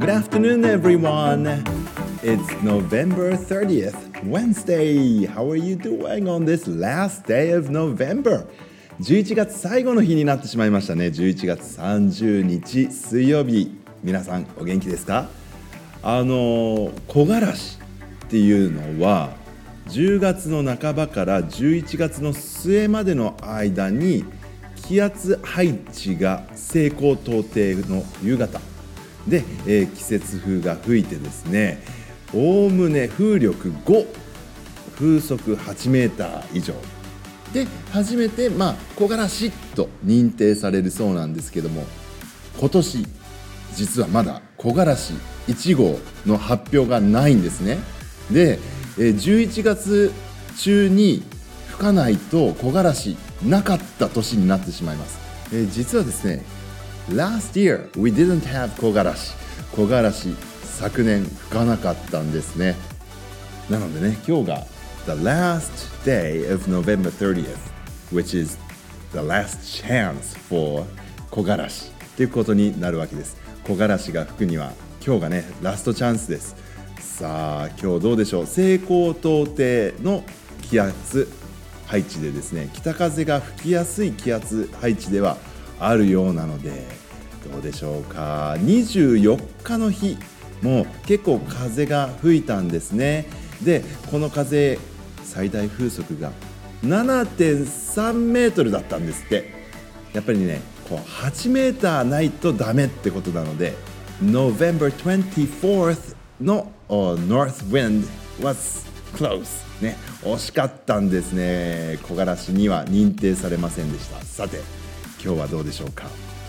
Good afternoon, everyone. It's November 30th, Wednesday. How are you doing on this last day of November? 11月最後の日になってしまいましたね。11月30日水曜日。皆さんお元気ですか？木枯らしっていうのは10月の半ばから11月の末までの間に気圧配置が西高東低の夕方で、季節風が吹いてですね、おおむね風力5、風速8メーター以上で初めて木枯らしと認定されるそうなんですけども、今年実はまだ木枯らし1号の発表がないんですね。で、11月中に吹かないと木枯らしなかった年になってしまいます。実はですね、Last year we didn't have 木枯らし。木枯らし昨年吹かなかったんですね。なのでね、今日が The last day of November 30th, which is the last chance for 木枯らしということになるわけです。木枯らしが吹くには今日がねラストチャンスです。さあ今日どうでしょう。西高東低の気圧配置でですね、北風が吹きやすい気圧配置ではあるようなので、どうでしょうか。24日の日も結構風が吹いたんですね。でこの風最大風速が 7.3 メートルだったんですって。やっぱりね8メーターないとダメってことなので November 24th の North Wind was close ね、惜しかったんですね。木枯らしには認定されませんでした。さて今日はどうでしょうか。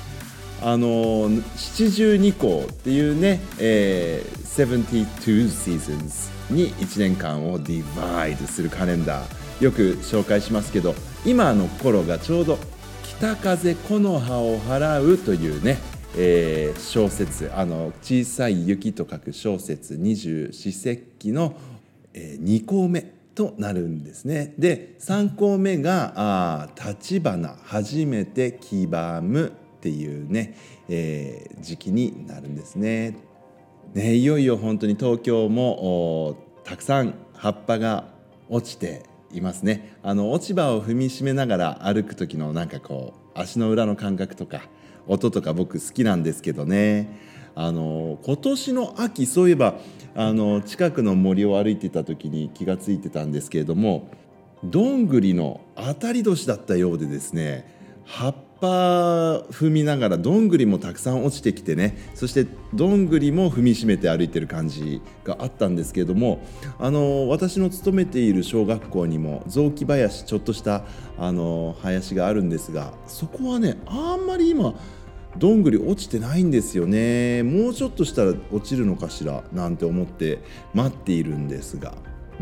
七十二候っていうね、72 seasons に1年間を divide するカレンダーよく紹介しますけど、今の頃がちょうど北風木の葉を払うというね、小節、小さい雪と書く小節二十四節気の、2項目となるんですね。で3項目が立花初めて黄ばむっていうね、時期になるんですね。いよいよ本当に東京もたくさん葉っぱが落ちていますね。落ち葉を踏みしめながら歩く時の足の裏の感覚とか音とか僕好きなんですけどね。今年の秋、そういえば近くの森を歩いていた時に気がついてたんですけれども、どんぐりの当たり年だったようでですね、葉っぱ踏みながらどんぐりもたくさん落ちてきてね、そしてどんぐりも踏みしめて歩いてる感じがあったんですけれども、私の勤めている小学校にも雑木林、ちょっとした林があるんですが、そこはねあんまり今どんぐり落ちてないんですよね。もうちょっとしたら落ちるのかしらなんて思って待っているんですが、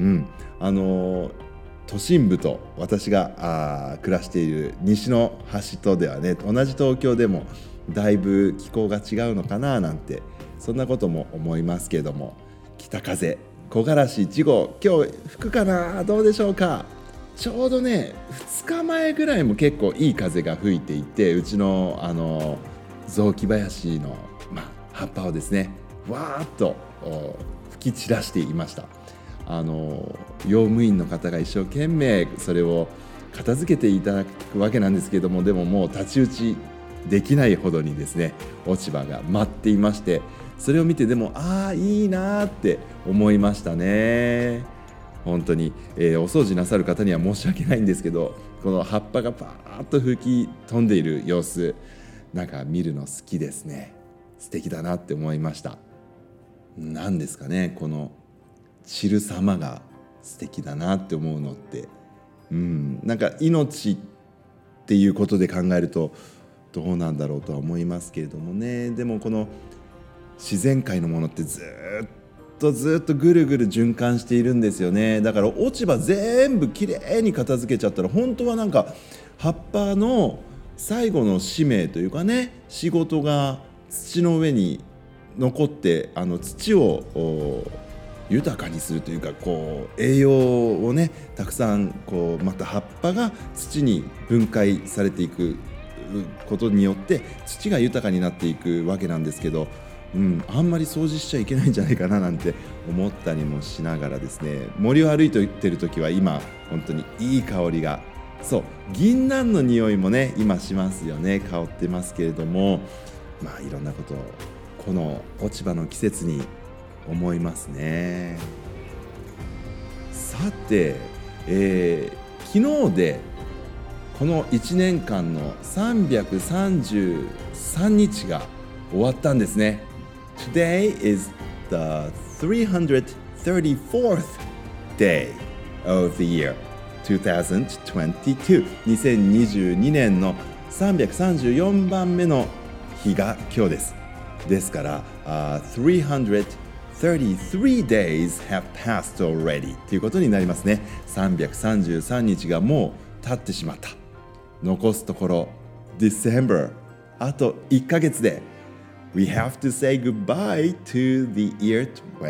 都心部と私が暮らしている西の端とではね、同じ東京でもだいぶ気候が違うのかななんて、そんなことも思いますけれども、北風木枯らし1号今日吹くかな、どうでしょうか。ちょうどね2日前ぐらいも結構いい風が吹いていて、うちの雑木林の、葉っぱをですねわーっと吹き散らしていました。用務員の方が一生懸命それを片付けていただくわけなんですけれども、でももう太刀打ちできないほどにですね落ち葉が舞っていまして、それを見てでもいいなって思いましたね。本当に、お掃除なさる方には申し訳ないんですけど、この葉っぱがパーッと吹き飛んでいる様子、見るの好きですね。素敵だなって思いました。なんですかね、この散る様が素敵だなって思うのって、命っていうことで考えるとどうなんだろうとは思いますけれどもね。でもこの自然界のものってずっとぐるぐる循環しているんですよね。だから落ち葉全部きれいに片付けちゃったら、本当は葉っぱの最後の使命というかね、仕事が土の上に残って土を豊かにするというか、栄養をねたくさんまた葉っぱが土に分解されていくことによって土が豊かになっていくわけなんですけど、 あんまり掃除しちゃいけないんじゃないかななんて思ったりもしながらですね、森を歩いている時は今本当にいい香りが、そう銀杏の匂いもね今しますよね。香ってますけれども、いろんなことをこの落ち葉の季節に思いますね。さて、昨日でこの1年間の333日が終わったんですね。Today is the 334th day of the year 2022。2022年の334番目の日が今日です。ですから、333 days have passed already ということになりますね。333日がもう経ってしまった。残すところ December あと1ヶ月でWe have to say goodbye to the year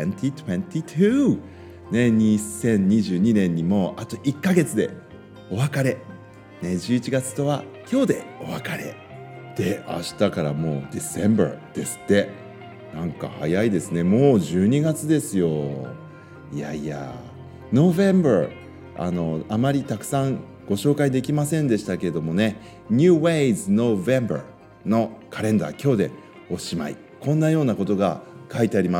2022。ね、2022年にもあと1ヶ月でお別れ。ね、11月とは今日でお別れ。で、明日からもう December ですって。なんか早いですね。もう12月ですよ。いやいや、November あまりたくさんご紹介できませんでしたけれどもね、New Ways November のカレンダー今日でおしまい。こんなようなことが書いてあります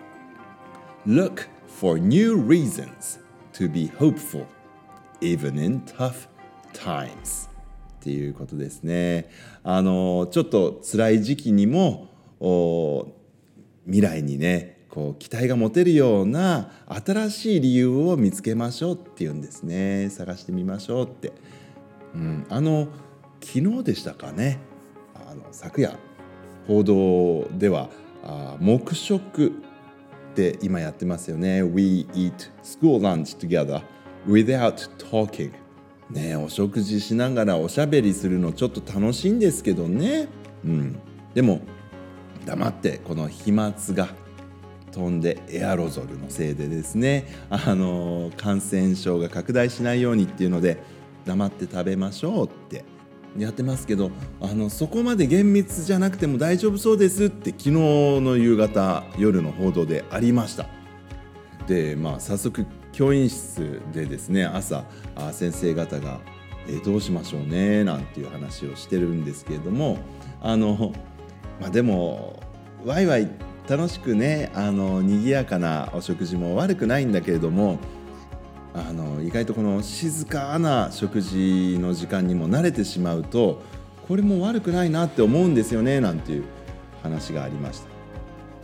。Look for new reasons to be hopeful even in tough times っていうことですね。ちょっと辛い時期にも未来にねこう期待が持てるような新しい理由を見つけましょうっていうんですね。探してみましょうって、昨日でしたかね、昨夜報道では黙食って今やってますよね。 We eat school lunch together without talking ね、お食事しながらおしゃべりするのちょっと楽しいんですけどね、でも黙ってこの飛沫が飛んでエアロゾルのせいでですね、感染症が拡大しないようにっていうので黙って食べましょうってやってますけど、そこまで厳密じゃなくても大丈夫そうですって昨日の夕方夜の報道でありました。で、早速教員室でですね、朝先生方が、どうしましょうねなんていう話をしてるんですけれども、でもワイワイ楽しくね賑やかなお食事も悪くないんだけれども、意外とこの静かな食事の時間にも慣れてしまうとこれも悪くないなって思うんですよねなんていう話がありました。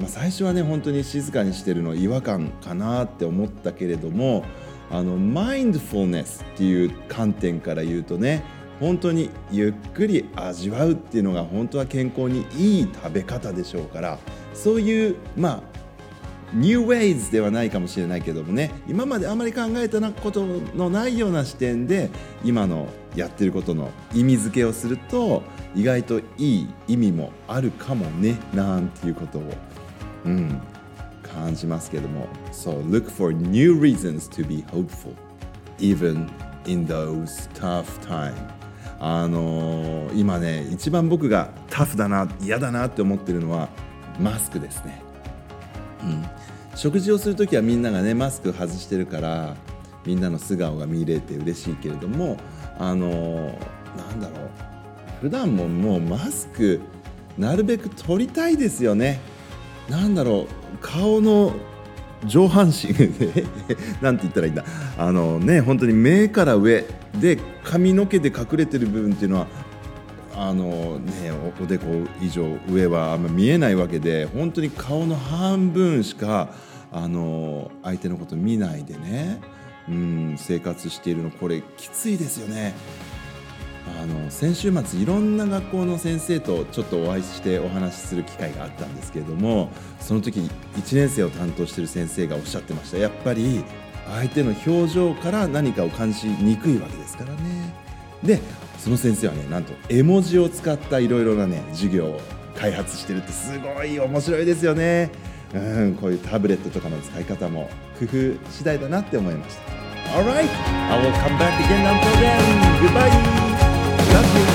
最初はね本当に静かにしてるの違和感かなって思ったけれども、マインドフルネスっていう観点から言うとね、本当にゆっくり味わうっていうのが本当は健康にいい食べ方でしょうから、そういうNew Ways ではないかもしれないけどもね、今まであまり考えたことのないような視点で今のやってることの意味付けをすると意外といい意味もあるかもねなんていうことを、感じますけども。 So look for new reasons to be hopeful even in those tough times。今ね一番僕がタフだな嫌だなって思ってるのはマスクですね。食事をするときはみんながねマスク外してるからみんなの素顔が見れて嬉しいけれども、普段ももうマスクなるべく取りたいですよね。顔の上半身なんて言ったらいいんだ、本当に目から上で髪の毛で隠れてる部分っていうのはおでこ以上上はあんま見えないわけで、本当に顔の半分しか相手のこと見ないでね、生活しているのこれきついですよね。先週末いろんな学校の先生とちょっとお会いしてお話しする機会があったんですけれども、その時1年生を担当している先生がおっしゃってました。やっぱり相手の表情から何かを感じにくいわけですからね。でその先生はね、なんと絵文字を使ったいろいろなね授業を開発してるって、すごい面白いですよね。こういうタブレットとかの使い方も工夫次第だなって思いました。Alright, I will come back again until then. Goodbye. Love you.